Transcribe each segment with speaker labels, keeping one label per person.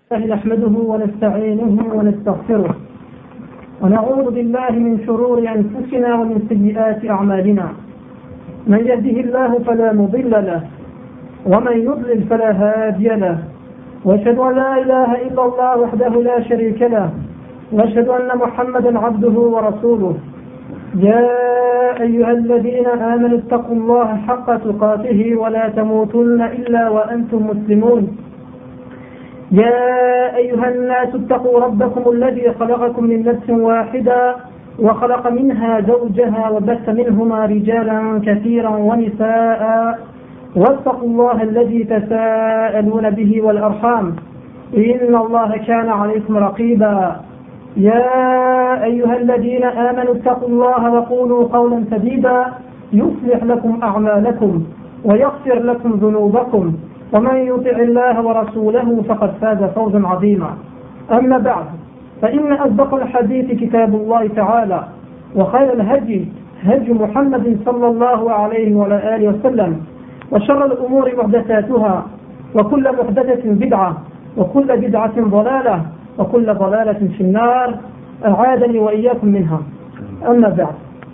Speaker 1: نحمده ونستعينه ونستغفره ونعوذ بالله من شرور أنفسنا ومن سيئات أعمالنا. من يهده الله فلا مضل له ومن يضلل فلا هادي له، وأشهد أن لا إله إلا الله وحده لا شريك له، وأشهد أن محمدا عبده ورسوله. يا أيها الذين آمنوا اتقوا الله حق تقاته ولا تموتن إلا وأنتم مسلمون. يا أيها الناس اتقوا ربكم الذي خلقكم من نفس واحدة وخلق منها زوجها وبث منهما رجالا كثيرا ونساء، واتقوا الله الذي تساءلون به والأرحام إن الله كان عليكم رقيبا. يا أيها الذين آمنوا اتقوا الله وقولوا قولا سديدا يصلح لكم أعمالكم ويغفر لكم ذنوبكم، ومن يطع الله ورسوله فقد فاز فوزا عظيما. أما بعد، فإن أصدق الحديث كتاب الله تعالى، وخير الهدي هدي محمد صلى الله عليه وعلى آله وسلم، وشر الأمور محدثاتها، وكل محدثة بدعة، وكل بدعة ضلالة، وكل ضلالة في النار، أعاذني وإياكم منها. أما بعد،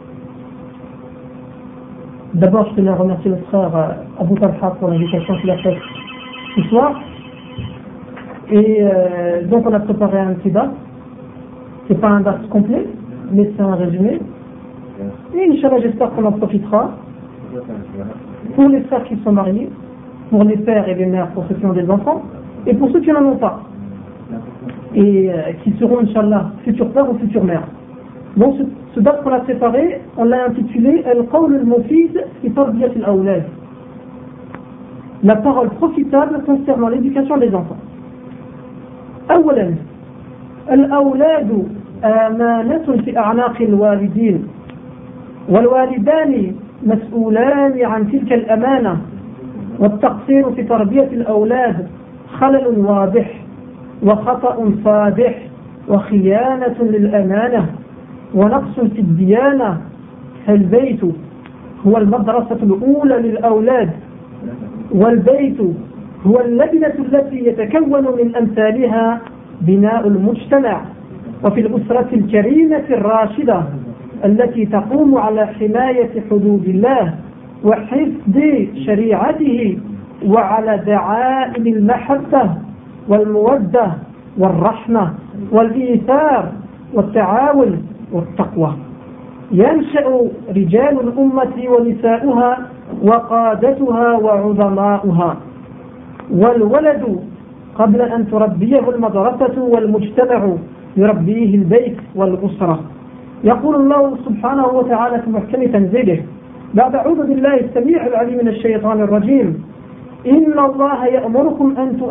Speaker 1: d'abord je tenais à remercier le frère Abou Talha pour l'invitation qu'il a faite ce soir. Et donc on a préparé un petit dars. C'est pas un dars complet, mais c'est un résumé. Et Inch'Allah, j'espère qu'on en profitera pour les frères qui sont mariés, pour les pères et les mères, pour ceux qui ont des enfants, et pour ceux qui n'en ont pas, et qui seront Inch'Allah futurs pères ou futures mères. Donc ce dars qu'on a préparé, on l'a intitulé Al-Qawl al-Mufid fi Tarbiyat al-Awlad, la parole profitable concernant l'éducation des enfants. أولا، الأولاد أمانة في أعناق الوالدين، والوالدان مسؤولان عن تلك الأمانة، والتقصير في تربية الأولاد خلل واضح وخطأ فادح وخيانة للأمانة ونقص في الديانة. فالبيت هو المدرسة الأولى للأولاد، والبيت هو اللبنة التي يتكون من أمثالها بناء المجتمع. وفي الأسرة الكريمة الراشدة التي تقوم على حماية حدود الله وحفظ شريعته، وعلى دعائم المحبة والمودة والرحمة والإيثار والتعاون والتقوى، ينشأ رجال الأمة ونساؤها وقادتها وعظماؤها. والولد قبل أن تربيه المدرسة والمجتمع يربيه البيت والأسرة. يقول الله سبحانه وتعالى في محكم تنزيله بعد أعوذ بالله السميع العليم من الشيطان الرجيم: إن الله يأمركم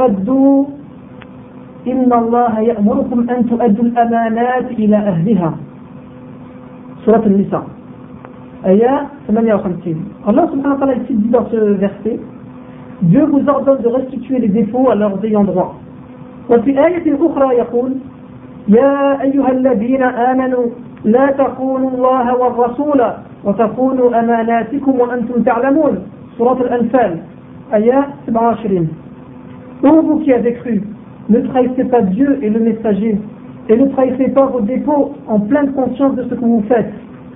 Speaker 1: أن تؤدوا الأمانات إلى أهلها. سورة النساء آية 58. Allah subhanahu wa ta'ala ici dit dans ce verset: Dieu vous ordonne de restituer les défauts à leurs ayants droit. وفي آية أخرى يقول: يا أيها الذين آمنوا لا تخونوا الله والرسول وتخونوا أماناتكم وأنتم تعلمون. سورة الأنفال آية 27. Ô vous qui avez cru, ne trahissez pas Dieu et le messager, et ne trahissez pas vos dépôts en pleine conscience de ce que vous faites.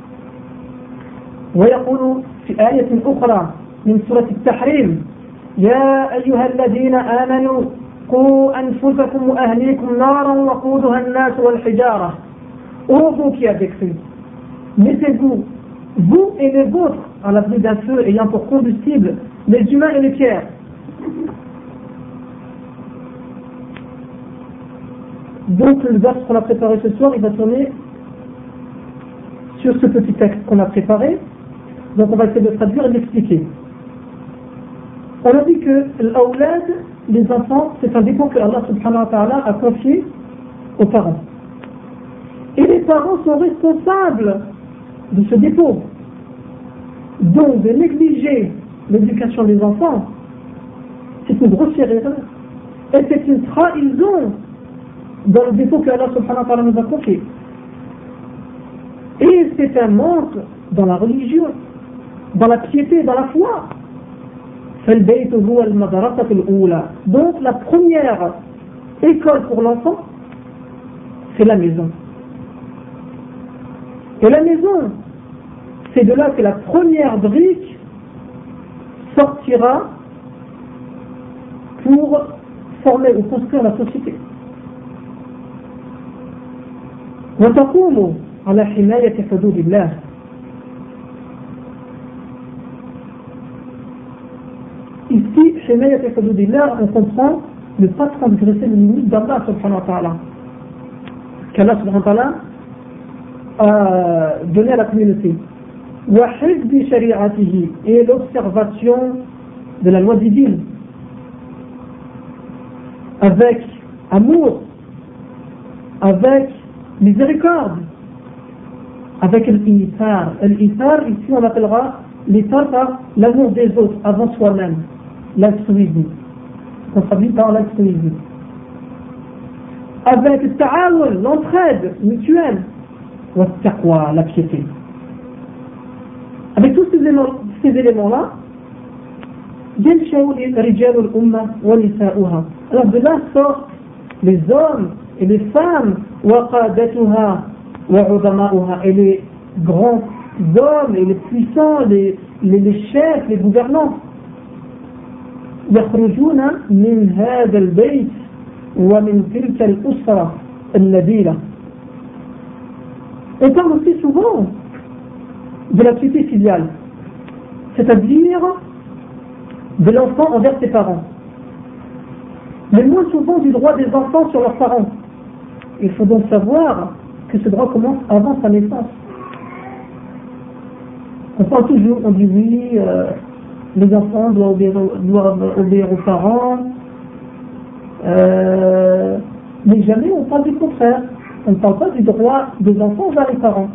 Speaker 1: ويقول في آية أخرى من سورة التحريم: يا أيها الذين آمنوا قوا أنفسكم وأهليكم نارا وقودها الناس والحجارة. Ô vous qui avez cru, mettez-vous, vous et les vôtres, à l'abri d'un feu ayant pour combustible les humains et les pierres. Donc le verset qu'on a préparé ce soir, il va tourner sur ce petit texte qu'on a préparé. Donc on va essayer de traduire et d'expliquer. On a dit que l'awlad, les enfants, c'est un dépôt que Allah subhanahu wa ta'ala a confié aux parents. Et les parents sont responsables de ce dépôt. Donc de négliger l'éducation des enfants, c'est une grossière erreur. Et c'est une trahison dans le dépôt que Allah subhanahu wa ta'ala nous a confié. Et c'est un manque dans la religion, dans la piété, dans la foi. Donc la première école pour l'enfant, c'est la maison. Et la maison, c'est de là que la première brique sortira pour former ou construire la société. وتقوم على حماية حدود الله. Ici, حماية حدود الله, on comprend ne pas transgresser les limites d'Allah subhanahu wa ta'ala. Qu'Allah subhanahu wa ta'ala a donné à la communauté. وحفظ شريعته, et l'observation de la loi divine avec amour, avec miséricorde, avec l'ithar. L'ithar, ici on appellera l'ithar par l'amour des autres avant soi-même, l'altruisme. On traduit par l'altruisme. Avec le ta'awun, l'entraide mutuelle, ou le taqwa, la piété. Avec tous ces éléments-là, alors de là sortent les hommes et les femmes, et les grands hommes et les puissants, les chefs, les gouvernants. يخرجون من هذا البيت ومن تلك الأسرة النبيلة. On parle aussi souvent de la piété filiale, c'est-à-dire de l'enfant envers ses parents, mais moins souvent du droit des enfants sur leurs parents. Il faut donc savoir que ce droit commence avant sa naissance. On parle toujours, on dit oui, les enfants doivent obéir aux parents, mais jamais on parle du contraire. On ne parle pas du droit des enfants vers les parents.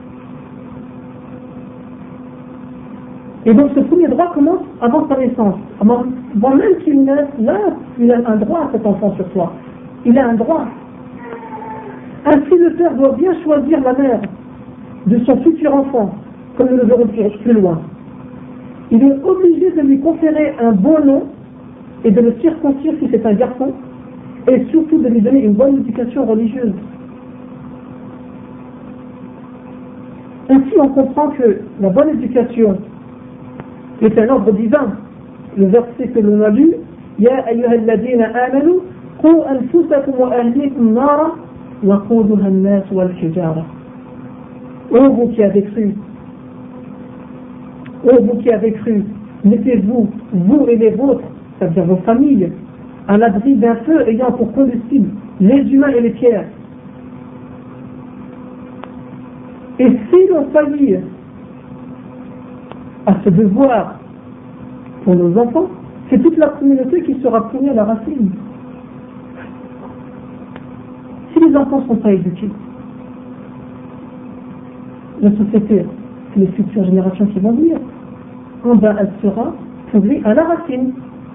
Speaker 1: Et donc ce premier droit commence avant sa naissance. Avant même qu'il naisse, là, il a un droit à cet enfant sur soi. Il a un droit. Ainsi le père doit bien choisir la mère de son futur enfant, comme nous le verrons plus loin. Il est obligé de lui conférer un bon nom et de le circoncire si c'est un garçon, et surtout de lui donner une bonne éducation religieuse. Ainsi on comprend que la bonne éducation est un ordre divin. Le verset que l'on a lu, Ya ayyuhalladhina amanu qu anfusakum wa ahlikum nara wa quduha an-nas wal hijara. Ô vous qui avez cru, mettez-vous, vous et les vôtres, c'est-à-dire vos familles, à l'abri d'un feu ayant pour combustible les humains et les pierres. Et si l'on faillit à ce devoir pour nos enfants, c'est toute la communauté qui sera punie à la racine. Si les enfants ne sont pas éduqués, la société, les futures générations qui vont venir, elle sera pourrie à la racine.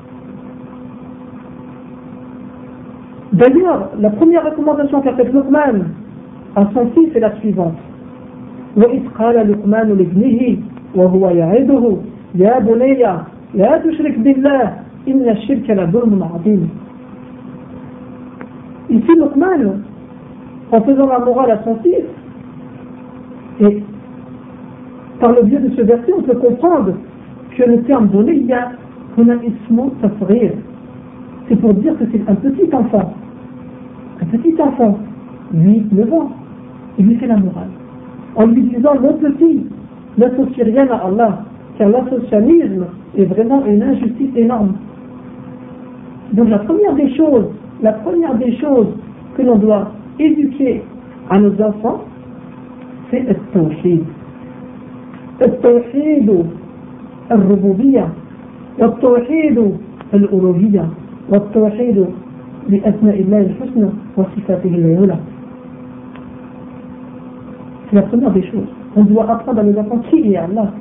Speaker 1: D'ailleurs, la première recommandation qu'a faite Luqman à son fils est la suivante. وإذ قال لقمان لابنه وهو يعظه يا بني لا تشرك بالله إن الشرك لظلم عظيم. Ici Luqman, en faisant la morale à son fils, et par le biais de ce verset, on peut comprendre que le terme donné, il y a ismu tasghir. C'est pour dire que c'est un petit enfant, 8-9 ans, il lui fait la morale. En lui disant, mon petit, n'associe rien à Allah, car l'associationnisme est vraiment une injustice énorme. Donc la première des choses que l'on doit éduquer à nos enfants, c'est le tawhid. التوحيد الربوبية والتوحيد الألوهية والتوحيد بأسماء الله الحسنى وصفاته العلى. C'est la première des choses. On doit apprendre à nos enfants qui est Allah.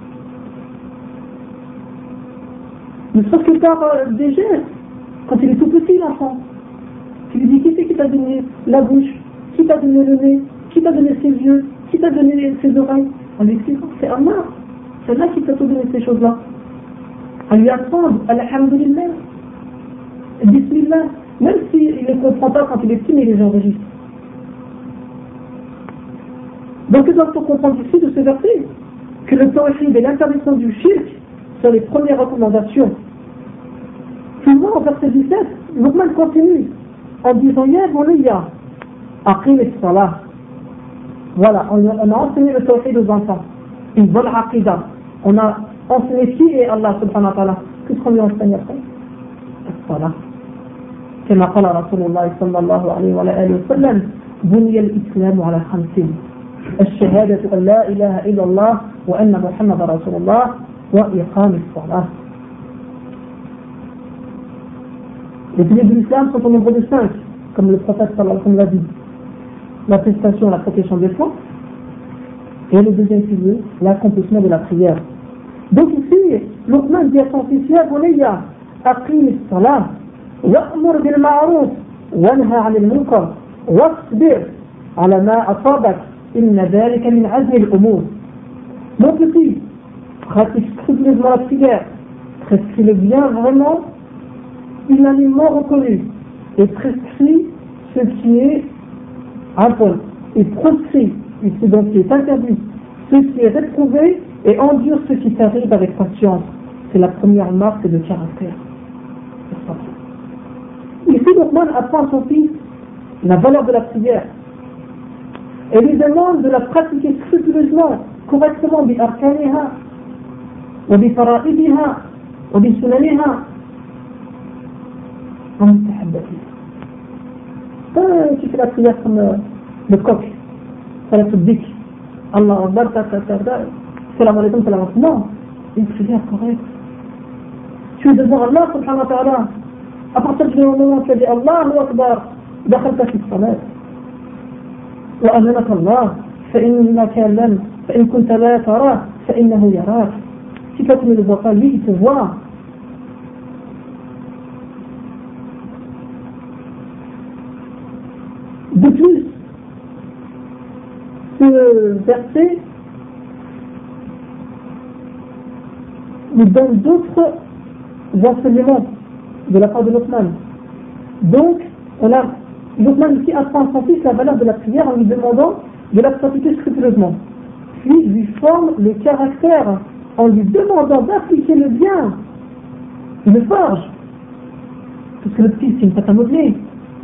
Speaker 1: Ne serait-ce que par des gestes. Quand il est tout petit, l'enfant, tu lui dis qui c'est qui t'a donné la bouche, qui t'a donné le nez, qui t'a donné ses yeux, qui t'a donné ses oreilles. En lui expliquant, c'est Allah. C'est Allah qui t'a tout donné ces choses-là. À lui apprendre, Alhamdulillah, Bismillah, Même s'il ne les comprend pas quand il est petit, mais il les enregistre. Donc nous devons comprendre ici de ce verset que le tawhid et l'interdiction du shirk sont les premières recommandations. Plus loin, au verset 17, Luqman continue en disant Ya bunayya, aqim as-salah. Voilà, on a enseigné le tawhid aux enfants, une bonne aqidah. On a enseigné qui est Allah subhanahu wa ta'ala. Qu'est-ce qu'on lui enseigne après? As-salah. كما قال رسول الله صلى الله عليه وآله وسلم بني الإسلام على 5: الشهادة أن لا إله إلا الله وأن محمد رسول الله وإقام الصلاة. Les piliers de l'islam sont au nombre de 5, comme le prophète sallallahu alayhi wa sallam l'a dit. L'attestation, la protection des foi, et le deuxième pilier, l'accomplissement de la prière. Donc ici, Luqman dit à son fils, Ya bunayya, aqim as-salah, wa'mur bil ma'ruf, wanha 'anil munkar, wasbir 'ala ma asabak, inna dhalika min 'azmi al-umur. Mon petit, pratique scrupuleusement la prière, prescrit le bien vraiment, unanimement reconnu, et prescrit ce qui est impôt, et proscrit ce dont qui est interdit, ce qui est réprouvé, et endure ce qui t'arrive avec patience. C'est la première marque de caractère. Ici, Luqman apprend à son fils la valeur de la prière et lui demande de la pratiquer scrupuleusement, correctement, bi arkaniha, wa bi fara'idiha, wa bi sunaniha, wa mustahabbatiha. Tu fais la prière comme le coq, salat al-dik, Allah Akbar, salam alaikum, salam alaikum. Non, une prière correcte. Tu es devant Allah subhanahu wa ta'ala. À partir du moment où tu as dit Allahu Akbar, دخلت في الصلاة وأمنك الله فإن كنت لا تراه فإنه يراك. Si toi tu ne le vois pas, lui il te voit. De plus, ce verset nous donne d'autres enseignements de la part de Luqman. Donc, Luqman ici apprend à son fils la valeur de la prière en lui demandant de la pratiquer scrupuleusement. Puis il lui forme le caractère en lui demandant d'appliquer le bien. Il le forge. Parce que le petit, c'est une pâte à modeler.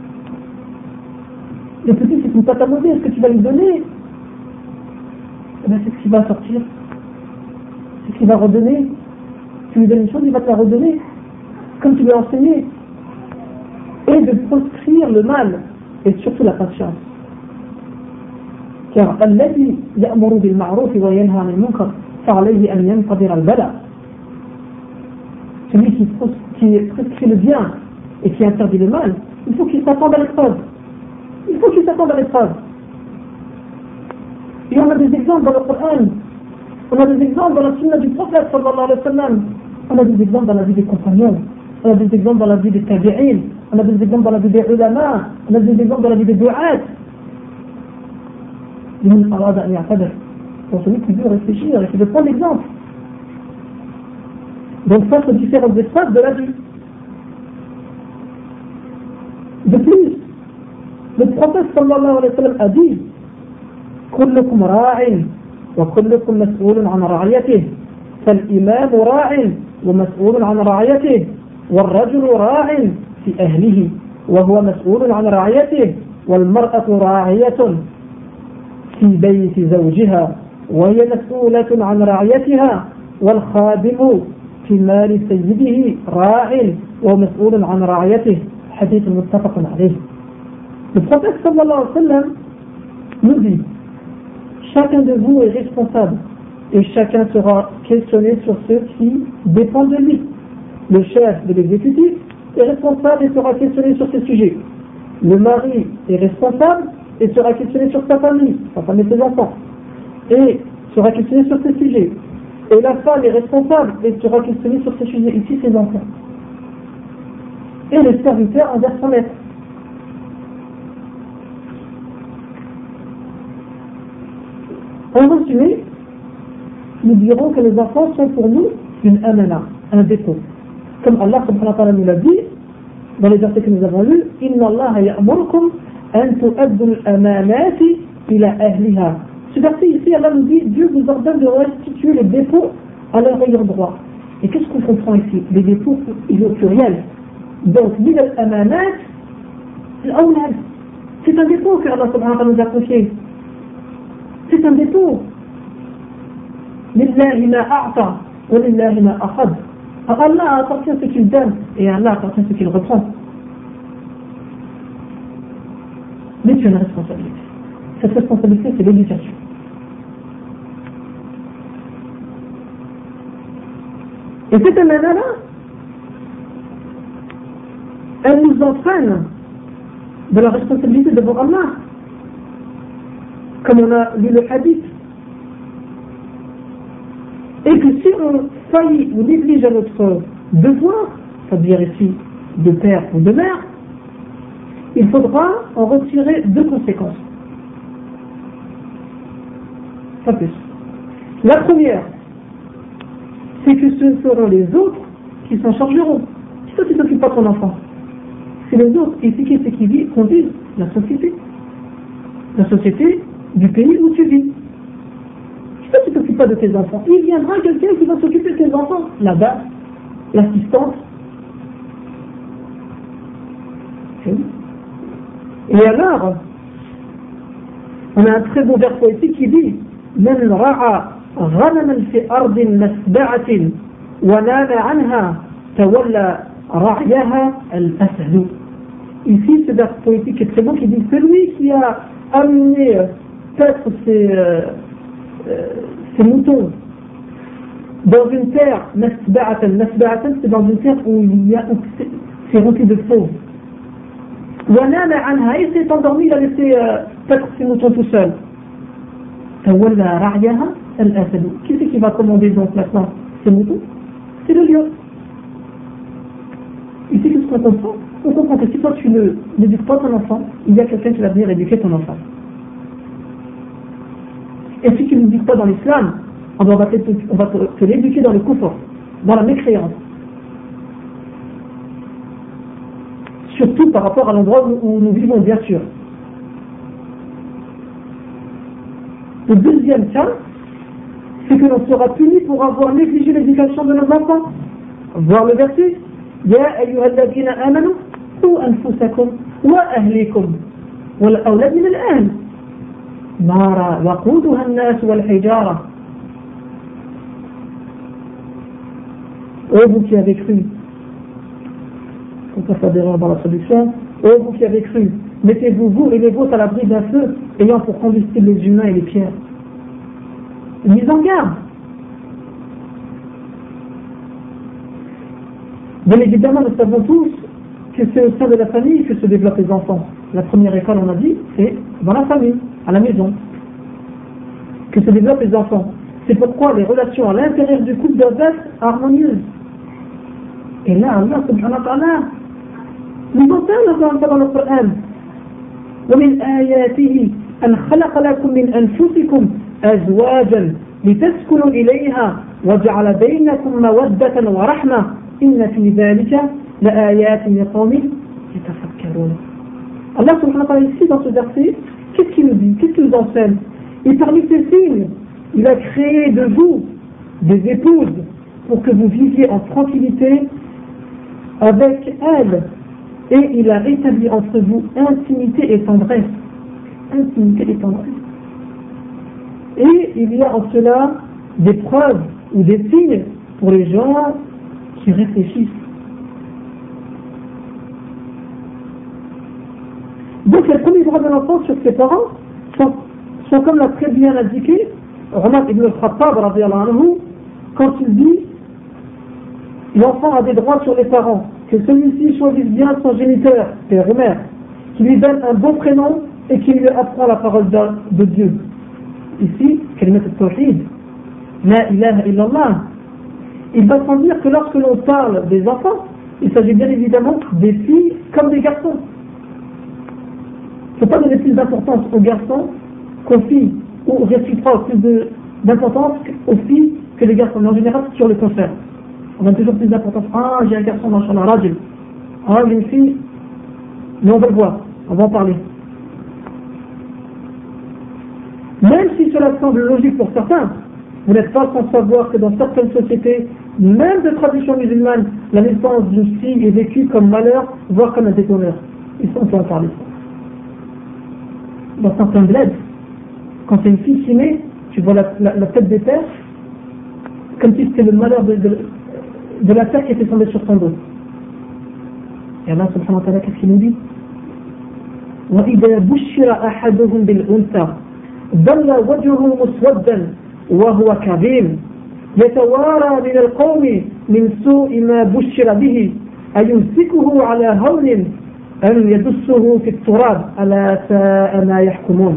Speaker 1: Le petit, c'est une pâte à modeler. Est-ce que tu vas lui donner? Eh bien, c'est ce qui va sortir. C'est ce qu'il va redonner. Tu lui donnes une chose, il va te la redonner. Comme tu lui as enseigné. Et de proscrire le mal. Et surtout la patience. Car الذي يأمر بالمعروف وينهى عن المنكر فعليه أن ينتظر البلاء. Celui qui prescrit le bien et qui interdit le mal, il faut qu'il s'attende à l'épreuve. Il faut qu'il s'attende à l'épreuve. Et on a des exemples dans le Coran, on a des exemples dans la sunna du prophète sallallahu alayhi wa sallam, on a des exemples dans la vie des compagnons, on a des exemples dans la vie des tabi'in, on a des exemples dans la vie des ulama, on a des exemples dans la vie des du'at. لمن أراد أن يعتبر. Pour celui qui veut réfléchir et qui veut prendre l'exemple. Donc face aux différentes épreuves de la vie. De plus, le prophète sallallahu alayhi wa sallam a dit كلكم راع وكلكم مسؤول عن رعيته فالإمام راع ومسؤول عن رعيته والرجل راع في أهله وهو مسؤول عن رعيته والمرأة راعية في بيت زوجها وهي مسؤولة عن رعيتها والخادم في مال سيده راع ومسؤول عن رعيته. حديث متفق عليه. Le prophète sallallahu alayhi wa sallam nous dit chacun de vous est responsable et chacun sera questionné sur ce qui dépend de lui. Le chef de l'exécutif est responsable et sera questionné sur ces sujets. Le mari est responsable et sera questionné sur sa famille et ses enfants, et sera questionné sur ces sujets. Et la femme est responsable et sera questionnée sur ces sujets, ici ses enfants. Et le serviteur envers son maître. En résumé, nous dirons que les enfants sont pour nous une amana, un dépôt. Comme Allah subhanahu wa ta'ala nous l'a dit, dans les versets que nous avons lus, Inna Allah ya'murukum an tu'addu al-amanati ila ahliha. Ce verset ici, Allah nous dit, Dieu vous ordonne de restituer les dépôts à leur ayant droit. Et qu'est-ce qu'on comprend ici? Les dépôts, il est au pluriel. Donc, ila al-amanat, al-awlad. C'est un dépôt que Allah subhanahu wa ta'ala nous a confié. C'est un dépôt. Lillahi ma a'ta, wa lillahi ma akhad. Allah appartient ce qu'il donne et Allah appartient ce qu'il reprend. Mais tu as une responsabilité. Cette responsabilité, c'est l'éducation. Et cette amana-là, elle nous entraîne de la responsabilité devant Allah. Comme on a lu le hadith. Et que si on faillit ou néglige à notre devoir, c'est-à-dire ici de père ou de mère, il faudra en retirer deux conséquences. Pas plus. La première, c'est que ce seront les autres qui s'en chargeront. C'est toi qui ne t'occupes pas de ton enfant. C'est les autres. Et c'est qui conduisent la société. La société du pays où tu vis. Si toi tu ne t'occupes pas de tes enfants, il viendra quelqu'un qui va s'occuper de tes enfants. Là-bas, l'assistante. Et alors, on a un très beau vers poétique qui dit من رعى غنما في أرض مسبعة ونام عنها تولى رعيها الأسد. Ici, c'est vers poétique est très beau qui dit celui qui a amené peut-être ses moutons dans une terre masba'atan, c'est dans une terre où c'est rempli de fauves. ونام عنها, il s'est endormi, il a laissé peut-être ses moutons tout seul. تولى رعيها الأسد. Qui c'est qui va commander donc maintenant ces moutons? C'est le lion. Ici, qu'est-ce qu'on comprend? On comprend que si toi tu n'éduques pas ton enfant, il y a quelqu'un qui va venir éduquer ton enfant. Et si tu ne l'éduques pas dans l'islam, on va te l'éduquer dans le kufr, dans la mécréance. Surtout par rapport à l'endroit où nous vivons, bien sûr. Le deuxième cas, c'est que l'on sera puni pour avoir négligé l'éducation de nos enfants. Voir le verset. يا أيها الذين آمنوا قوا أنفسكم وأهليكم والأولاد من الأهل نارا وقودها الناس والحجارة. Ô vous qui avez cru, on peut faire des erreurs dans la traduction, ô vous qui avez cru, mettez-vous vous et les vôtres à l'abri d'un feu ayant pour combustible les humains et les pierres. Une mise en garde. Bien évidemment, nous savons tous que c'est au sein de la famille que se développent les enfants. La première école, on a dit, c'est dans la famille, à la maison, que se développent les enfants. C'est pourquoi les relations à l'intérieur du couple doivent être harmonieuses. Et là, Allah subhanahu wa ta'ala nous en parle dans le Coran. ومن آياته أن خلق لكم من أنفسكم أزواجا لتسكنوا إليها وجعل بينكم مودة ورحمة إن في ذلك لآيات لقوم يتفكرون. Allah subhanahu wa ta'ala ici dans ce verset, qu'est-ce qu'il nous dit? Qu'est-ce qu'il nous enseigne? Et parmi ces signes, il a créé de vous des épouses pour que vous viviez en tranquillité avec elles. Et il a établi entre vous intimité et tendresse. Intimité et tendresse. Et il y a en cela des preuves ou des signes pour les gens qui réfléchissent. Donc les premiers droits de l'enfant sur ses parents sont comme l'a très bien indiqué Omar ibn al-Khattab quand il dit l'enfant a des droits sur les parents, que celui-ci choisisse bien son géniteur, père et mère, qui lui donne un bon prénom et qui lui apprend la parole de Dieu. Ici, kalimat al-tawhid, la ilaha illallah. Il va sans dire que lorsque l'on parle des enfants, il s'agit bien évidemment des filles comme des garçons. Il ne faut pas donner plus d'importance aux garçons qu'aux filles, ou réciproque plus d'importance aux filles que les garçons. Mais en général, sur le contraire. On donne toujours plus d'importance. Ah, j'ai un garçon dans le rajul. Ah, une fille, mais on va le voir, on va en parler. Même si cela semble logique pour certains, vous n'êtes pas sans savoir que dans certaines sociétés, même de tradition musulmane, la naissance d'une fille est vécue comme malheur, voire comme un déshonneur. Et ça, on peut en parler. Dans certains bleds, quand c'est une fille qui naît, tu vois la tête des pères, comme si c'était le malheur de la terre qui était tombée sur son dos. Et Allah subhanahu wa ta'ala, qu'est-ce qu'il nous dit? وَإِذَا بُشِّرَ أَحَدُهُمْ بِالْأُنْثَى ظل وجهه مسودا وهو كظيم يتوارى من القوم من سوء ما بشر به أيمسكه على هون أم يدسه في التراب ألا ساء ما يحكمون.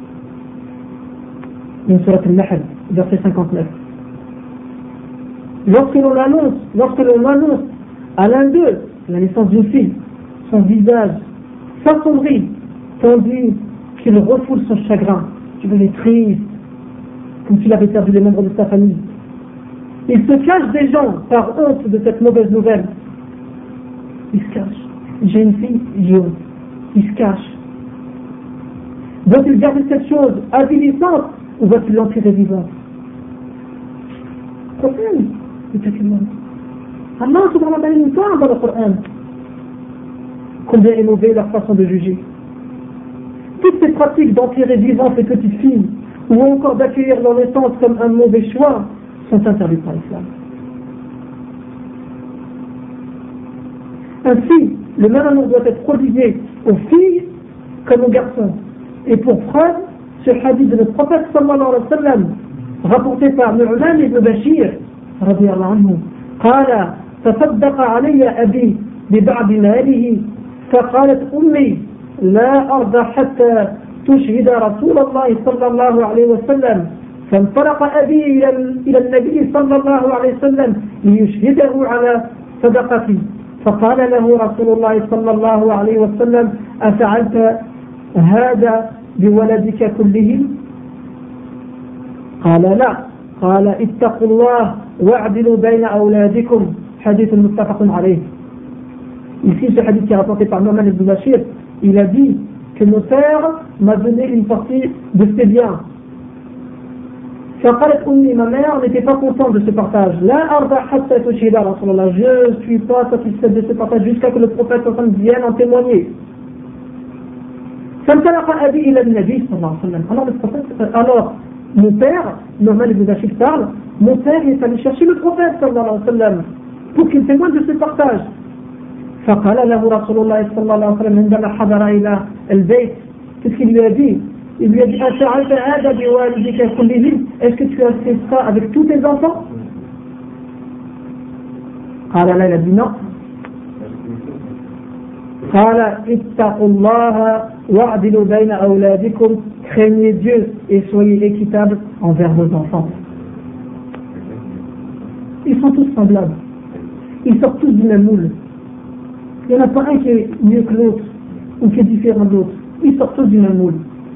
Speaker 1: من سورة النحل verset 59. Lorsque l'on annonce à l'un d'eux la naissance d'une fille, son visage s'assombrit tandis qu'il refoule son chagrin. Tu veux les triste, comme s'il avait perdu les membres de sa famille. Il se cache des gens par honte de cette mauvaise nouvelle. Il se cache. J'ai une fille, j'ai honte. Il se cache. Doit-il garder cette chose avilissante ou va-t-il l'enterrer vivante? Problème. Allah subhanahu wa ta'ala nous parle dans le Coran. Combien est mauvais leur façon de juger. Toutes ces pratiques d'enterrer vivant ces petites filles ou encore d'accueillir leur naissance comme un mauvais choix sont interdites par l'islam. Ainsi, le même amour doit être prodigué aux filles comme aux garçons. Et pour preuve, ce hadith de notre prophète sallallahu alayhi wa sallam, rapporté par Nu'man ibn Bashir, radiyallahu anhu, قال تصدق علي أبي ببعض ماله فقالت أمي لا أرضى حتى تشهد رسول الله صلى الله عليه وسلم فانطلق أبي إلى النبي صلى الله عليه وسلم ليشهده على صدقتي فقال له رسول الله صلى الله عليه وسلم أفعلت هذا بولدك كلهم؟ قال لا. قال اتقوا الله واعدلوا بين أولادكم. حديث متفق عليه. Ici, ce hadith qui est rapporté par Nu'man ibn Bashir, il a dit que mon père m'a donné une partie de ses biens. Ma mère n'était pas contente de ce partage. Je ne suis pas satisfaite de ce partage jusqu'à ce que le prophète vienne en témoigner. Alors, mon père, Nu'man ibn Bashir parle, mon père est allé chercher le prophète pour qu'il témoigne de ce partage. فقال له رسول الله صلى الله عليه وسلم عندما حضر إلى البيت qu'est-ce qu'il lui a dit? Il lui a dit أفعلت هذا بوالدك كلهم? Est-ce que tu as fait ça avec tous tes enfants? قال لا. Il a dit non. قال اتقوا الله واعدلوا بين أولادكم. Craignez Dieu et soyez équitables envers vos enfants. Ils sont tous semblables. Ils sortent tous du même moule. Il n'y en a pas un qui est mieux que l'autre ou qui est différent de l'autre. Ils sortent tous du même moule.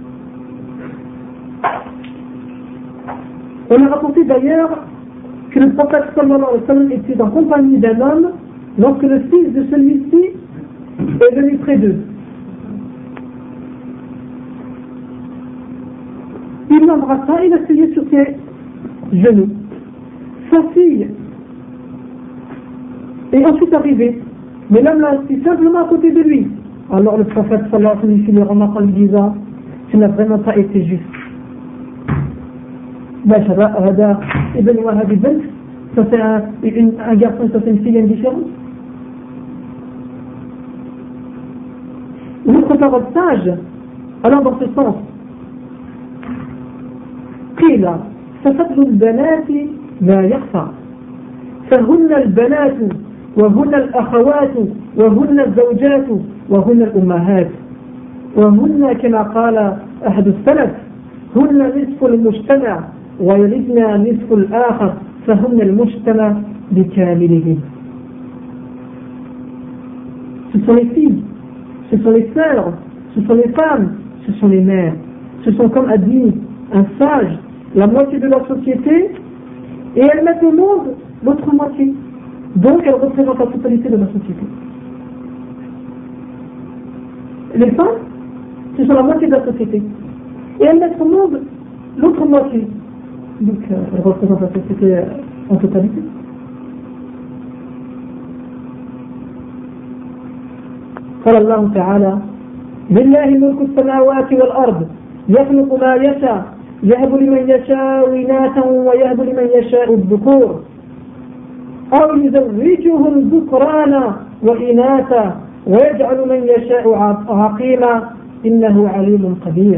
Speaker 1: On a rapporté d'ailleurs que le prophète sallallahu alayhi wa sallam était en compagnie d'un homme lorsque le fils de celui-ci est venu près d'eux. Il l'embrassa et l'asseyait sur ses genoux. Sa fille est ensuite arrivée. Mais l'homme l'a assis simplement à côté de lui. Alors le prophète sallallahu alayhi wa sallam fit le remarque en lui disant: tu n'as vraiment pas été juste. Ça c'est un garçon, ça c'est une fille indifférente. Une autre parole sage allant dans ce sens. قيل ففتح البنات لا يخفى فهن البنات وهن الأخوات وهن الزوجات وهن الأمهات وهن كما قال أحد السلف هن نصف المجتمع ويلدن نصف الآخر فهن المجتمع بكامله. Ce sont les filles, ce sont les sœurs, ce sont les femmes, ce sont les mères. Ce sont, comme a dit un sage, la moitié de leur société et elles mettent au monde l'autre moitié. Donc, elle représente la totalité de la société. Les femmes, ce sont la moitié de la société. Et elles mettent au monde l'autre moitié. Donc, elles représentent la société en totalité. قال الله تعالى لله ملك السماوات والأرض يخلق ما يشاء يهب لمن يشاء إناثا ويهب لمن يشاء الذكور أو يزوجهم ذكرانا وإناثا ويجعل من يشاء عقيما إنه عليم قدير.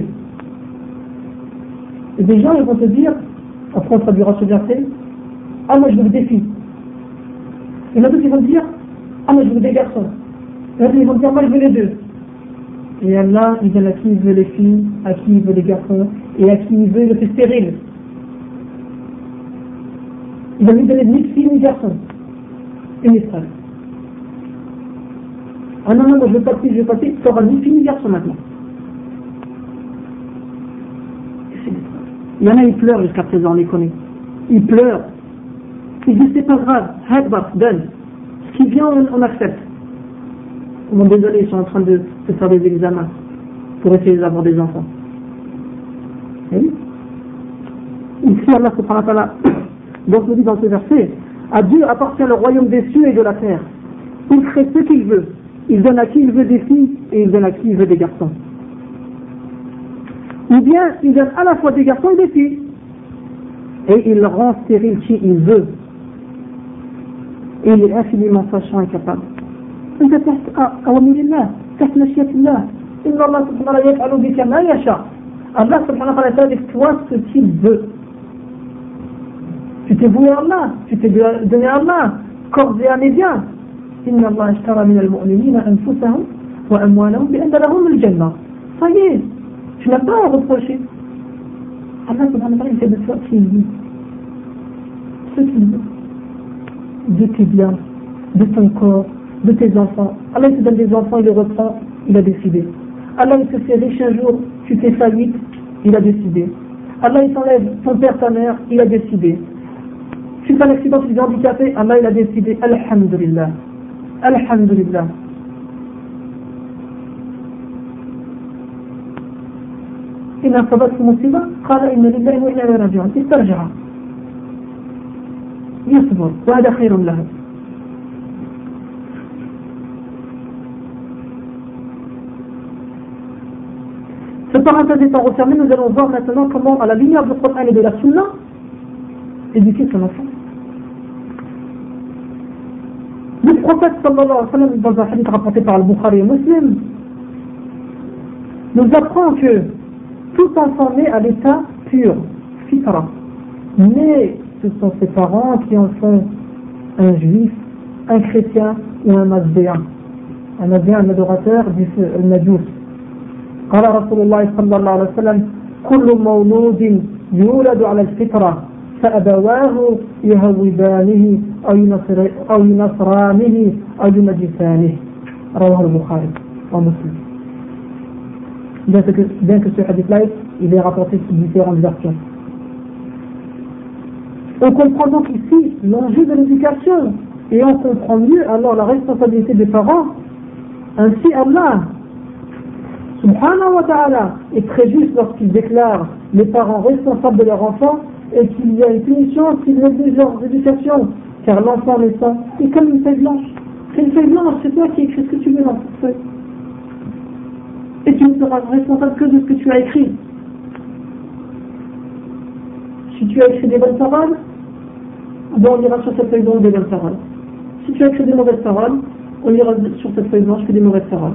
Speaker 1: Et des gens ils vont te dire, après on traduira ce verset, ah moi je veux des filles. Il y en a d'autres qui vont dire, ah moi je veux des garçons. Il y en a d'autres qui vont dire, moi je veux les deux. Et Allah, il donne à qui il veut les filles, à qui il veut les garçons, et à qui il veut, il le fait stérile. Il va lui donner ni filles ni garçons. Une estrade. Ah non, non, moi je veux pas de filles, je veux pas de filles, tu auras ni filles ni garçons maintenant. Il y en a, ils pleurent jusqu'à présent, on les connaît. Ils pleurent. Ils disent, c'est pas grave, hadbat, donne. Ce qui vient, on accepte. Bon, désolé, ils sont en train de faire des examens pour essayer d'avoir des enfants. Et oui. Ici, Allah subhanahu wa ta'ala, donc nous dit dans ce verset, à Dieu appartient le royaume des cieux et de la terre. Il crée ce qu'il veut. Il donne à qui il veut des filles et il donne à qui il veut des garçons. Ou bien, il donne à la fois des garçons et des filles. Et il rend stérile qui il veut. Et il est infiniment sachant et capable. أنت تحت أوامر الله تحت مشيئة الله إن الله سبحانه وتعالى يفعل بك ما يشاء. Allah subhanahu wa ta'ala fait avec toi ce qu'il veut. Tu t'es voué à Allah, tu t'es donné à Allah, corps et âme et bien. إن الله اشترى من المؤمنين أنفسهم وأموالهم بأن لهم الجنة. Ça y est, tu n'as pas à reprocher. Allah subhanahu wa ta'ala il fait de toi ce qu'il veut. Ce qu'il veut. De tes biens, de ton corps, de tes enfants. Allah il te donne des enfants, il les reprend, il a décidé. Allah il te fait riche un jour, tu fais faillite, il a décidé. Allah il t'enlève ton père, ta mère, il a décidé. Tu fais un accident, tu es handicapé, Allah il a décidé. Alhamdulillah. Alhamdulillah. إن أصابته مصيبة قال إن لله وإنا إليه راجعون استرجع يصبر وهذا خير له. Cette parenthèse étant refermée, nous allons voir maintenant comment, à la lumière du Coran et de la Sunna, éduquer son enfant. Le prophète sallallahu alayhi wa sallam, dans un hadith rapporté par Al-Bukhari et Muslim, nous apprend que tout enfant né à l'état pur, fitra, mais ce sont ses parents qui en font un juif, un chrétien ou un mazdéen. Un mazdéen, un adorateur du Najous. قال رسول الله صلى الله عليه وسلم كل مولود يولد على الفطرة فأبواه يهودانه أو ينصرانه أو يمجسانه رواه البخاري ومسلم. Bien que ce hadith-là, il est rapporté sous différentes versions. On comprend donc ici l'enjeu de l'éducation et on comprend mieux alors la responsabilité des parents. Ainsi Allah subhanahu wa ta'ala est très juste lorsqu'il déclare les parents responsables de leur enfant et qu'il y a une punition s'ils négligent leur éducation, car l'enfant naissant est comme une feuille blanche. C'est une feuille blanche, c'est toi qui écris ce que tu veux dans cette feuille. Et tu ne seras responsable que de ce que tu as écrit. Si tu as écrit des bonnes paroles, ben on ira sur cette feuille blanche des bonnes paroles. Si tu as écrit des mauvaises paroles, on ira sur cette feuille blanche que des mauvaises paroles.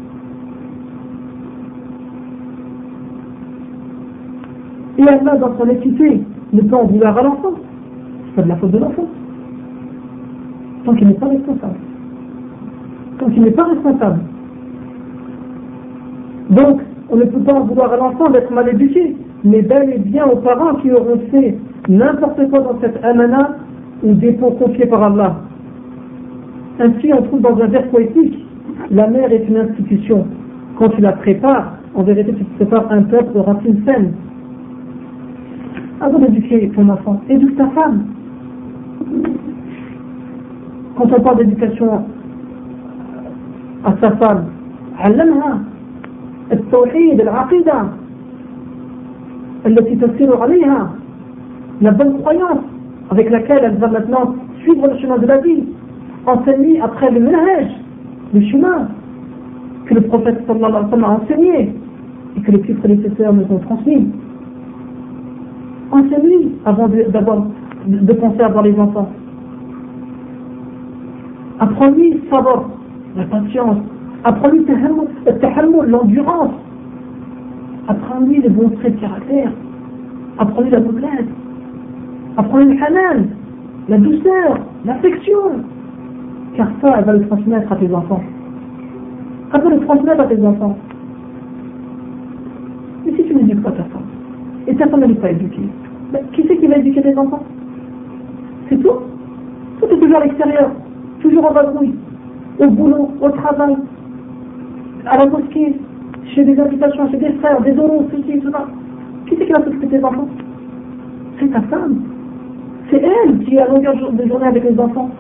Speaker 1: Et Allah, dans son équité, ne peut en vouloir à l'enfant. C'est pas de la faute de l'enfant. Tant qu'il n'est pas responsable. Tant qu'il n'est pas responsable. Donc, on ne peut pas en vouloir à l'enfant d'être mal éduqué, mais bel et bien aux parents qui auront fait n'importe quoi dans cette amana ou dépôt confié par Allah. Ainsi, on trouve dans un vers poétique, la mère est une institution. Quand tu la prépares, en vérité, tu prépares un peuple aux racines saines. Avant d'éduquer ton enfant, éduque ta femme. Quand on parle d'éducation à sa femme, علمها التوحيد العقيدة التي تسير عليها, la bonne croyance avec laquelle elle va maintenant suivre le chemin de la vie, enseigner après le manhaj, le chemin que le prophète sallallahu alayhi wa sallam a enseigné et que les plus prédécesseurs nous ont transmis. Enseigne-lui avant de penser à avoir les enfants. Apprends-lui savoir la patience. Apprends-lui l'endurance. Apprends-lui les bons traits de caractère. Apprends-lui la noblesse. Apprends-lui le hanan, la douceur, l'affection. Car ça, elle va le transmettre à tes enfants. Elle va le transmettre à tes enfants. Mais si tu n'éduques pas ta femme, et ta femme n'est pas éduquée, ben, qui c'est qui va éduquer tes enfants? C'est tout. Tout est toujours à l'extérieur, toujours en vadrouille, au boulot, au travail, à la mosquée, chez des invitations, chez des frères, des oraux, ceci, cela. Qui c'est qui va s'occuper de tes enfants? C'est ta femme. C'est elle qui est à longueur de journée avec les enfants.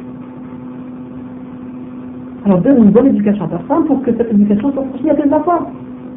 Speaker 1: Alors donne une bonne éducation à ta femme pour que cette éducation soit transmise à tes enfants.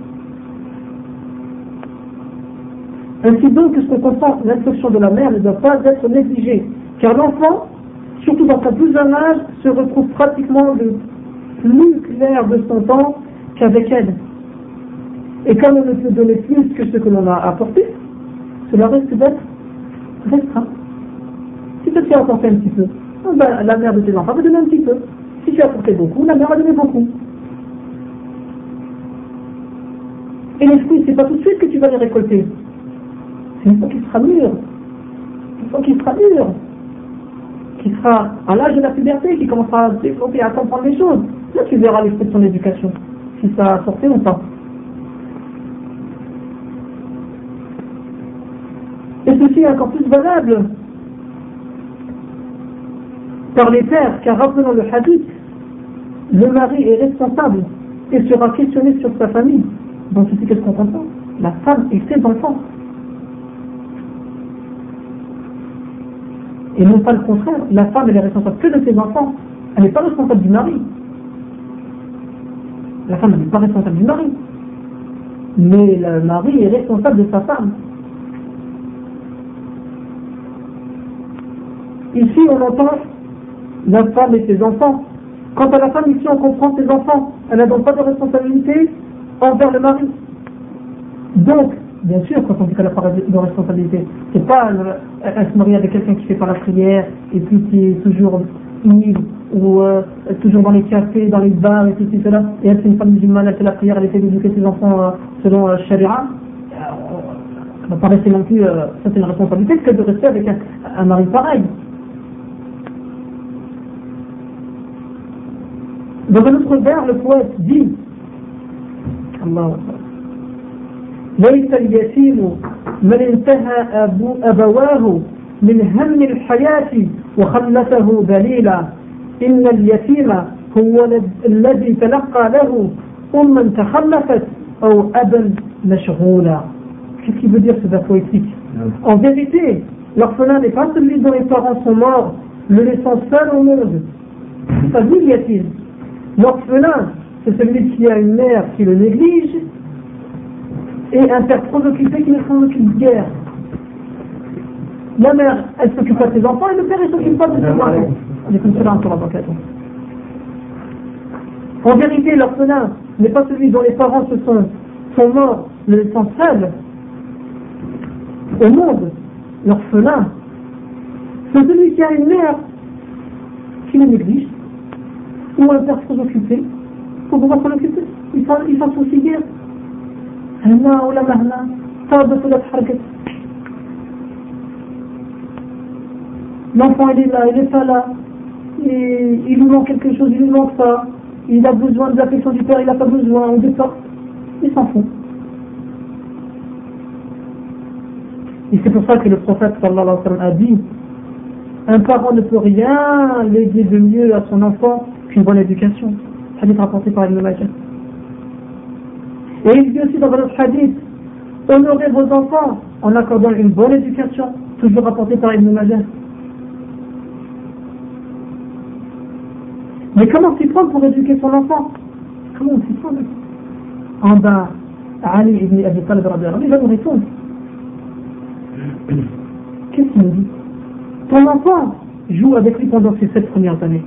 Speaker 1: Ainsi donc, ce qu'on comprend, l'instruction de la mère ne doit pas être négligée, car l'enfant, surtout dans son plus jeune âge, se retrouve pratiquement le plus clair de son temps qu'avec elle. Et quand on ne peut donner plus que ce que l'on a apporté, cela risque d'être restreint. Si tu as apporté un petit peu, ben, la mère de tes enfants va donner un petit peu. Si tu as apporté beaucoup, la mère va donner beaucoup. Et les fruits, c'est pas tout de suite que tu vas les récolter. C'est une fois qu'il sera mûr. Une fois qu'il sera mûr. Qui sera à l'âge de la puberté, qui commencera à développer, à comprendre les choses. Là, tu verras les fruits de son éducation. Si ça a sorti ou pas. Et ceci est encore plus valable par les pères, car rappelons le hadith, le mari est responsable et sera questionné sur sa famille. Donc ceci, qu'est-ce qu'on comprend? La femme et ses enfants. Et non pas le contraire, la femme elle est responsable que de ses enfants, elle n'est pas responsable du mari. La femme n'est pas responsable du mari, mais le mari est responsable de sa femme. Ici on entend la femme et ses enfants. Quant à la femme, ici on comprend ses enfants, elle n'a donc pas de responsabilité envers le mari. Donc, bien sûr, quand on dit qu'elle n'a pas de responsabilité, c'est pas elle se marie avec quelqu'un qui fait pas la prière et puis qui est toujours ivre ou toujours dans les cafés, dans les bars et tout cela, et elle c'est une femme musulmane, elle fait la prière, elle essaie d'éduquer ses enfants selon Sharia. Elle va pas rester non plus, ça c'est une responsabilité que de rester avec un mari pareil. Dans un autre vers, le poète dit Allah ليس اليتيم من انتهى أبواه من هم الحياة وخلته ذليلا إن اليتيم هو الذي تلقى له أما تخلفت أو أبا مشغولا. Qu'est-ce qu'il veut dire ce vers poétique? En vérité, l'orphelin n'est pas celui dont les parents sont morts, le laissant seul au monde. C'est pas lui le yatim. L'orphelin, c'est celui qui a une mère qui le néglige et un père trop occupé qui ne s'en occupe guère. La mère, elle s'occupe pas de ses enfants et le père, il s'occupe pas de ses enfants. En vérité, l'orphelin n'est pas celui dont les parents sont morts, le laissant seul au monde. L'orphelin, c'est celui qui a une mère qui le néglige ou un père trop occupé pour pouvoir s'en occuper. Il s'en soucie guère. هنا ولا مهنا صابت ولا تحركت. L'enfant il est là, il est pas là, et il lui manque quelque chose, il lui manque ça, il a besoin de l'affection du père, il n'a pas besoin, ou de ça, il s'en fout. Et c'est pour ça que le prophète sallallahu alayhi wa sallam a dit, un parent ne peut rien léguer de mieux à son enfant qu'une bonne éducation. Hadith rapporté par Ibn Majah. Et il dit aussi dans votre hadith, honorez vos enfants en accordant une bonne éducation, toujours rapporté par Ibn Majah. Mais comment s'y prendre pour éduquer son enfant? Comment on s'y prend? en bas Ali ibn Abi Talib, il va nous répondre. Qu'est-ce qu'il nous dit? Ton enfant joue avec lui pendant ces 7 premières années.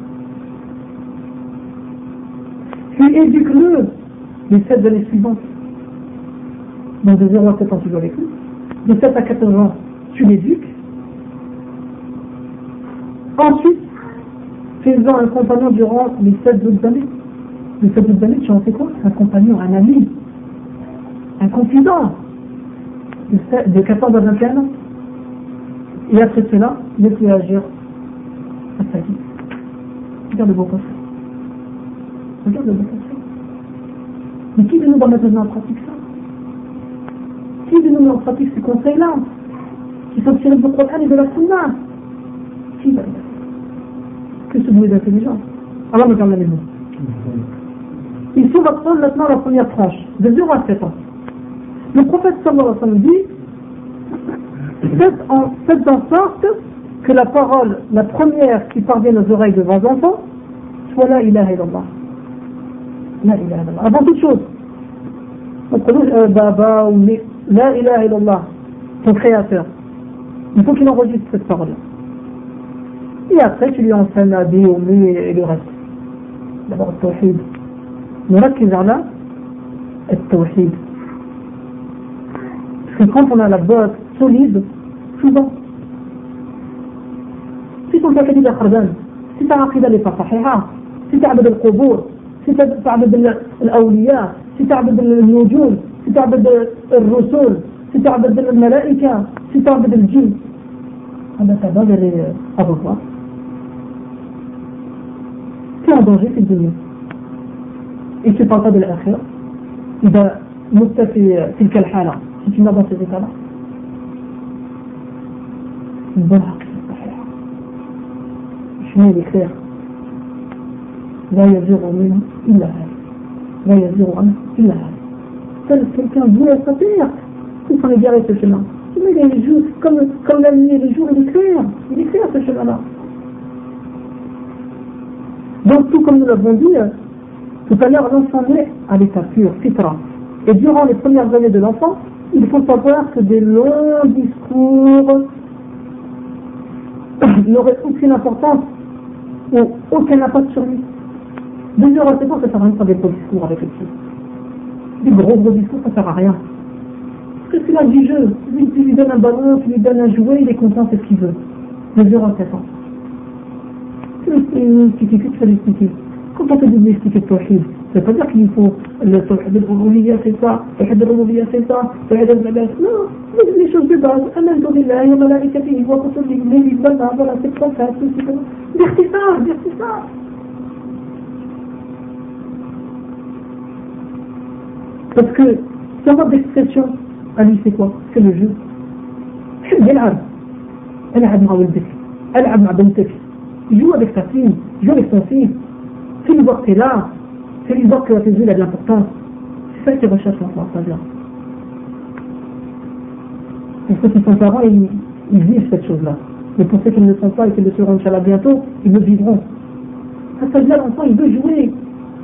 Speaker 1: Puis éduque-le les 7 années suivantes. Donc de 0 à 7 ans, tu joues avec lui. De 7 à 14 ans, tu l'éduques. Ensuite, fais-en un compagnon durant les 7 autres années. Les 7 autres années, tu en fais quoi? Un compagnon, un ami, un confident. De 14 à 21 ans. Et après cela, laisse-le agir à sa vie. Regarde le beau conseil. Regarde le beau conseil. Mais qui de nous va mettre en pratique ça? Qui de nous met en pratique ces conseils-là, qui sont tirés du Coran et de la Sunna? Qui va le faire? Que ce bruit d'intelligence. Allah me calme les mots. Ici, on va prendre maintenant la première tranche, de 0 à 7 ans. Le prophète sallallahu alayhi wa sallam dit: faites en sorte que la parole, la première qui parvienne aux oreilles de vos enfants, soit la ilaha illallah. La ilaha illallah. Avant toute chose, Baba ou la ilaha illallah, ton créateur, il faut qu'il enregistre cette parole-là. Et après, tu lui enseignes la vie, et le reste. D'abord, le tawhid. نركز على التوحيد. Parce que quand on a la base solide, souvent, si ton tawhid est khardal, si ta aqida n'est pas sahiha, si tu abdes al-qubur, si tu abdes al-awliya, si tu abdes al-nujum, si tu abdes al-rusul, si tu abdes al-malaika, si tu abdes al-jinn, ta base elle est à revoir. Tu es en danger, c'est dunya. Et tu ne parles pas de l'akhira, إذا مت في تلك الحالة si tu n'as dans ces états-là, une bonne عقيدة صحيحة. Le chemin est clair. لا يزيغ منه إلا هذا. لا يزيغ عنه إلا هذا. Seul quelqu'un voulait sa perte, il s'en est garé ce chemin. Mais les jours, comme la nuit et le jour, il est clair ce chemin-là. Donc tout comme nous l'avons dit tout à l'heure, l'enfant naît à l'état pur, fitra. Et durant les premières années de l'enfant, il faut savoir que des longs discours n'auraient aucune importance ou aucun impact sur lui. De 0 à 7 ans, ça ne sert à rien de faire des gros discours avec le petit. Des gros discours, ça ne sert à rien. Parce que c'est là du jeu. Tu lui donnes un ballon, tu lui donnes un jouet, il est content, c'est ce qu'il veut. De 0 à 7 ans. Tu lui expliques. Quand on te dit d'expliquer le tawhid, ça ne veut pas dire qu'il faut le tawhid al-uluhiyya c'est ça, le tawhid al-rububiyya c'est ça, le tawhid al-ibada. Non, les choses de base. Amantu billahi wa malaikatihi wa kutubihi, voilà, c'est comme ça, c'est comme ça. Dire c'est ça. Parce que ce mode d'expression, à lui c'est quoi? C'est le jeu. يلعب مع ولدك، ألعب مع بنتك، joue avec ta fille, joue avec ton fils. Fais-lui voir que tu es là, fais-lui voir que tes yeux a de l'importance. C'est ça qu'il recherche l'enfant, c'est-à-dire. Pour ceux qui sont parents, ils vivent cette chose-là. Mais pour ceux qui ne le sont pas et qui le seront Inch'Allah bientôt, ils le vivront. C'est-à-dire l'enfant, il veut jouer.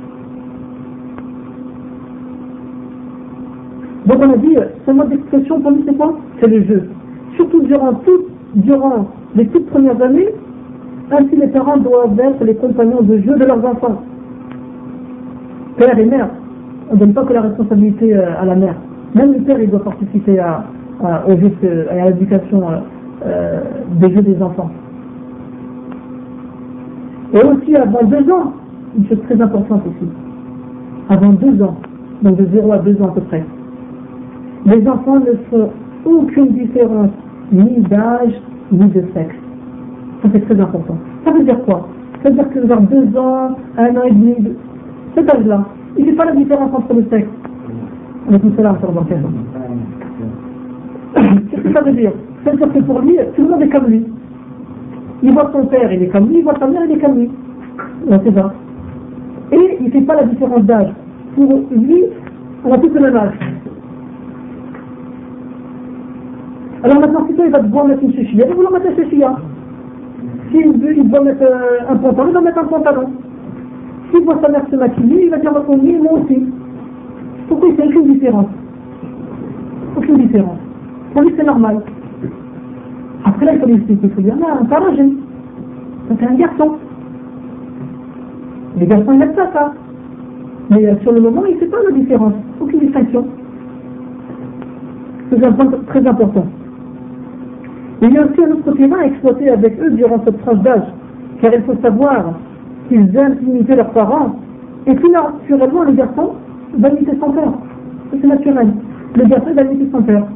Speaker 1: Donc on a dit, ce mode d'expression pour lui c'est quoi? C'est le jeu. Surtout durant les toutes premières années, ainsi les parents doivent être les compagnons de jeu de leurs enfants. Père et mère, on ne donne pas que la responsabilité à la mère. Même le père il doit participer à l'éducation des jeux des enfants. Et aussi avant 2 ans, une chose très importante aussi. Avant 2 ans, donc de 0 à 2 ans à peu près, les enfants ne font aucune différence ni d'âge ni de sexe. Ça c'est très important. Ça veut dire quoi? Ça veut dire que vers 2 ans, 1 an et demi, cet âge-là, il ne fait pas la différence entre le sexe. On a tout cela sur le banquet. Qu'est-ce que ça veut dire? Ça veut dire que pour lui, tout le monde est comme lui. Il voit son père, il est comme lui, il voit sa mère, il est comme lui. C'est ça. Et il ne fait pas la différence d'âge. Pour lui, on a tous le même âge. Alors maintenant, si toi il va devoir mettre une chouchia, il va vouloir mettre une chouchia. S'il doit mettre un pantalon, il va mettre un pantalon. S'il voit sa mère se maquiller, il va dire moi aussi. Pourquoi il fait aucune différence? Aucune différence. Pour lui, c'est normal. Après là, il faut lui expliquer. Il faut dire, non, c'est un jeune. C'est un garçon. Les garçons, ils n'aiment pas ça. Mais sur le moment, il ne fait pas la différence. Aucune distinction. C'est un point très important. Il y a aussi un autre terrain à exploiter avec eux durant cette tranche d'âge. Car il faut savoir qu'ils aiment imiter leurs parents. Et puis naturellement, le garçon va imiter son père. C'est naturel. Le garçon va imiter son père.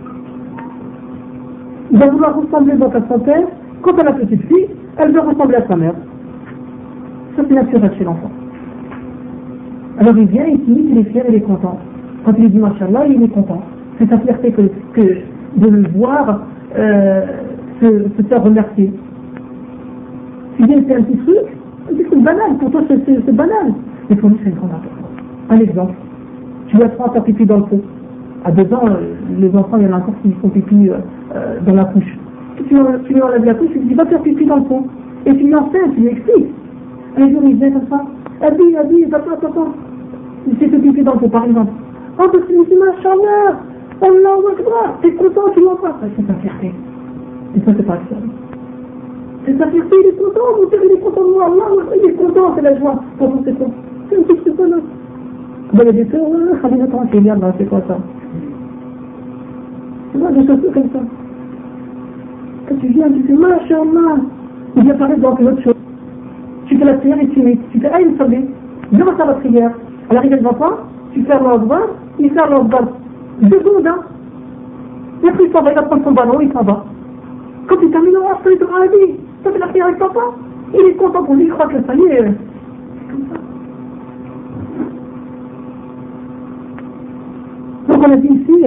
Speaker 1: Il va vouloir ressembler donc à son père. Quant à la petite fille, elle veut ressembler à sa mère. Ça c'est naturel chez l'enfant. Alors il vient, il s'imite, il est fier, il est content. Quand il dit Machallah, il est content. C'est sa fierté que de le voir se faire remercier. Si bien c'est un petit truc banal, pour toi c'est banal. Mais pour lui c'est une grande importance. Un exemple, tu vas prendre ta pipi dans le pot. À 2 ans, les enfants, il y en a encore qui font pipi dans la couche. Tu lui enlèves la couche, tu lui dis va faire pipi dans le pot. Et tu lui enseignes, tu lui expliques. Un jour il vient comme ça, Abi, papa. Il s'est fait pipi dans le pot par exemple. Oh, parce que c'est Machallah, Allahu Akbar, t'es content, tu l'entends. C'est sa fierté. Et ça, c'est pas ça. C'est sa fierté, il est content, mon père, il est content de moi, Allah, il est content, c'est la joie. Pourtant, c'est quoi? C'est un petit truc là. Ben, il y a des sœurs, Khalina, tranquille, là, c'est quoi ça? Tu vois, des choses comme ça. Quand tu viens, tu fais Machallah. Il vient parler dans autre chose. Tu fais la prière et tu fais Aïe Sabé. Viens faire la prière. À l'arrivée de l'enfant, tu fais l'Akbar, il fait l'Akbar. 2 secondes, hein. Et après, il s'en va, il va prendre son ballon, il s'en va. Quand il termine, après, il te dit, Abi, t'as fait la prière avec papa? Il est content pour lui, il croit que ça y est. C'est comme ça. Donc, on a dit ici,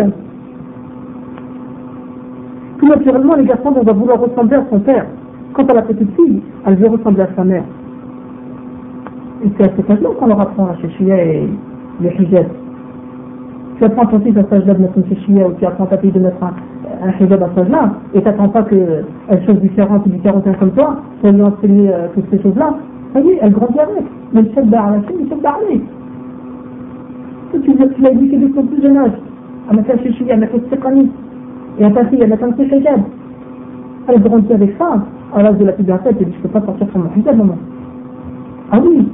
Speaker 1: tout naturellement, les garçons vont vouloir ressembler à son père. Quant à la petite fille, elle veut ressembler à sa mère. Et c'est à cet âge-là qu'on leur apprend la chéchia et le hijab. Tu apprends ton fils à cet âge-là de mettre une chéchia ou tu apprends ta fille de mettre un hijab à cet âge-là et tu n'attends pas qu'elle chose différente ou différente comme toi pour lui enseigner toutes ces choses-là. Ça y est, elle grandit avec. Mais le chef d'art à la chaîne, le chef d'art tu l'as éduqué depuis son plus jeune âge à mettre la chéchia, à mettre le stiqani et à ta fille à mettre un petit hijab. Elle grandit avec ça. À l'âge de la puberté, elle te dit je ne peux pas sortir sur mon hijab, maman. Ah oui.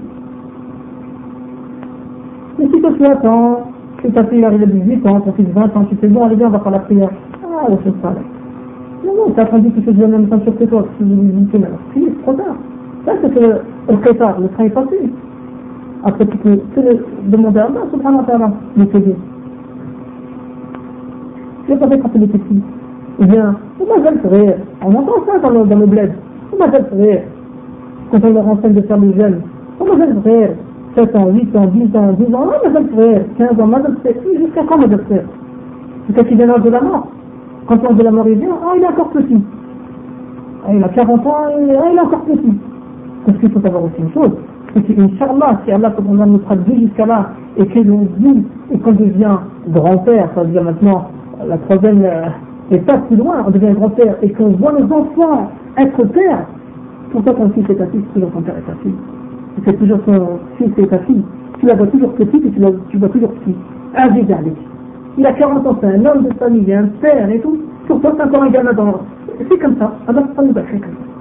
Speaker 1: Mais si toi tu attends, que ta fille arrive à 18 ans, ton fils 20 ans, tu te dis bon, allez bien, on va faire la prière. Ah, on fait ça là. Non, t'as attendu que tu fais la même ceinture que toi, que tu c'est trop tard. Là, c'est que le prétard, le train est passé. Après, tu peux demander à Allah, subhanahu wa ta'ala, de t'aider. Tu n'as pas fait quand tu étais petit. Eh bien, on va le faire. On entend ça dans le bled. On va le faire. Quand on leur enseigne de faire le jeûne, on va le faire. 7 ans, 8 ans, 10 ans, 12 ans, on va le faire. 15 ans, on va le faire. Jusqu'à quand on va le faire? Jusqu'à qu'il vient l'âge de la mort. Quand l'âge de la mort il vient, il est encore petit. Il a 40 ans, il est encore petit. Parce qu'il faut savoir aussi une chose, c'est qu'Inch'Allah, si Allah nous traduit jusqu'à là, et que l'on vit, et qu'on devient grand-père, ça veut dire maintenant la troisième étape plus loin, on devient grand-père, et qu'on voit nos enfants être pères, pour toi ton fils et ta fille, c'est toujours ton père et ta fille. Et c'est toujours ton fils et ta fille. Tu la vois toujours petite et tu vois toujours petit. Aziz avec. Il a 40 ans, c'est un homme de famille, il a un père et tout. Pour toi, c'est encore un gamin dans. C'est comme ça. Allah nous a fait comme ça.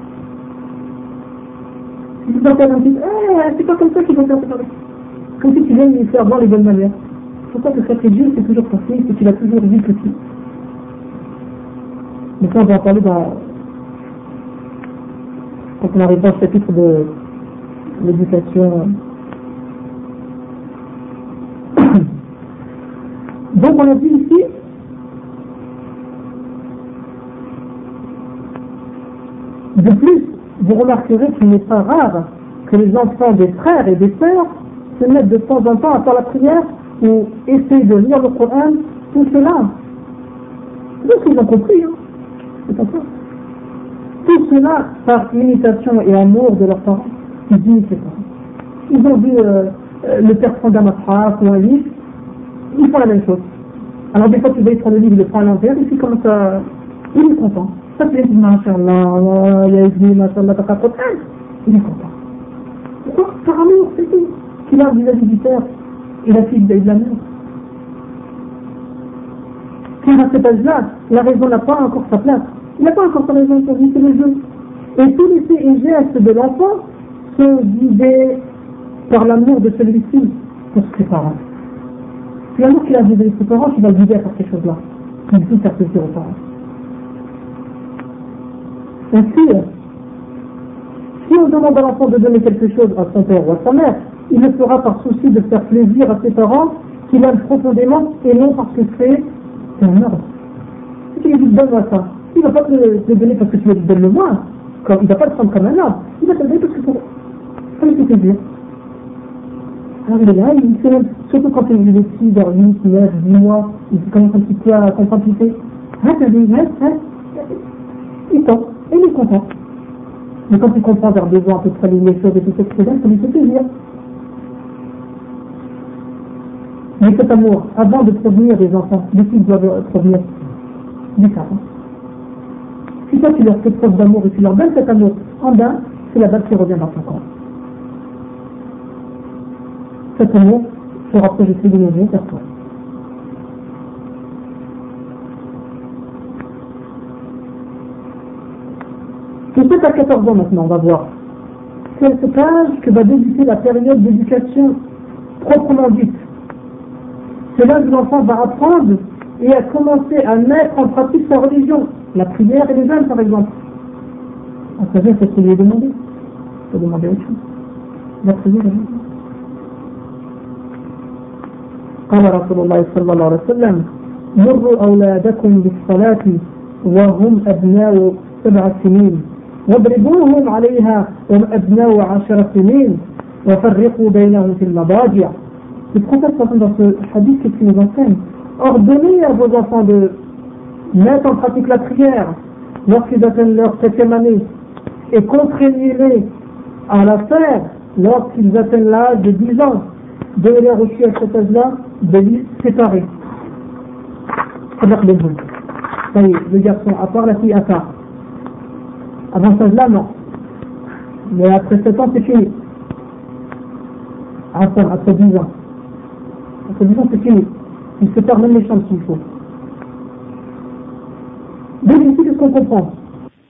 Speaker 1: Si tu t'entends un petit, c'est pas comme ça qu'il faut faire. Comme si tu viens lui faire voir les bonnes manières. Pour toi, que sacré Dieu, c'est toujours ton fils et tu l'as toujours vu petit. Mais ça, on va en parler quand on arrive dans ce chapitre de l'éducation. Donc on a dit ici de plus, vous remarquerez qu'il n'est pas rare que les enfants des frères et des sœurs se mettent de temps en temps à faire la prière ou essayent de lire le Coran, tout cela. Donc ils ont compris, hein. C'est pas ça. Tout cela par imitation et amour de leurs parents. Ils disent c'est ça. Ils ont vu le père prendre un matraf ou un livre, ils font la même chose. Alors des fois tu vas prendre le livre, il le prend à l'envers, et puis comme ça, il est content. Ça c'est Masha'Allah, il a dit Masha'Allah, t'as pas trop de il est content. Pourquoi? Par amour, c'est tout. Qu'il a vis-à-vis du père. Et la fille de l'amour. Car à cet âge-là, la raison n'a pas encore sa place. Il n'a pas encore sa raison pour lui, c'est le jeu. Et tous les faits et gestes de l'enfant sont guidés par l'amour de celui-ci pour ses parents. C'est l'amour qu'il a de ses parents qui va le guider à faire ces choses-là. Il faut faire plaisir aux parents. Ainsi, si on demande à l'enfant de donner quelque chose à son père ou à sa mère, il le fera par souci de faire plaisir à ses parents qu'il aime profondément et non parce que c'est un ordre. Si tu lui dis donne-moi ça, il ne va pas te le donner parce que tu lui dis donne-le-moi. Il ne va pas le prendre comme un ordre. Il va te le donner parce que ça lui fait plaisir. Alors il est là, il sait même, surtout quand il est petit, vers 8, 9, 10 mois, il commence un petit peu à comprendre ce qu'il fait. Il tombe, et il est content. Mais quand il comprend vers 2 ans à peu près les choses et tout ça, ça lui fait plaisir. Mais cet amour, avant de prévenir les enfants, de qui doivent prévenir des parents. Si toi tu leur fais preuve d'amour et tu leur donnes cet amour en bain, c'est la balle qui revient dans ton corps. Cet amour sera projeté de nouveau vers toi. De 7 à 14 ans maintenant, on va voir. C'est à cet âge que va débuter la période d'éducation proprement dite. C'est là que l'enfant va apprendre et à commencer à mettre en pratique sa religion. La prière et les jeûnes, par exemple. À savoir, c'est ce qu'il lui est demandé. Il faut demander autre chose. La prière et les jeûnes. قال رسول الله صلى الله عليه وسلم مروا أولادكم بالصلاة وهم أبناء 7 سنين واضربوهم عليها وهم أبناء 10 سنين وفرقوا بينهم في المضاجع. Le prophète dans ce hadith qui nous enseigne, ordonnez à vos enfants de mettre en pratique la prière lorsqu'ils atteignent leur 7e année et contraignez-les à la faire lorsqu'ils atteignent l'âge de 10 ans. Donnez-leur aussi à cet âge-là de les séparer. Le garçon à part, la fille à part. Avant cet âge-là, non. Mais après 7 ans, c'est fini. Après 10 ans. Après 10 ans, c'est fini. Il sépare même les chambres s'il faut. Donc ici, qu'est-ce qu'on comprend?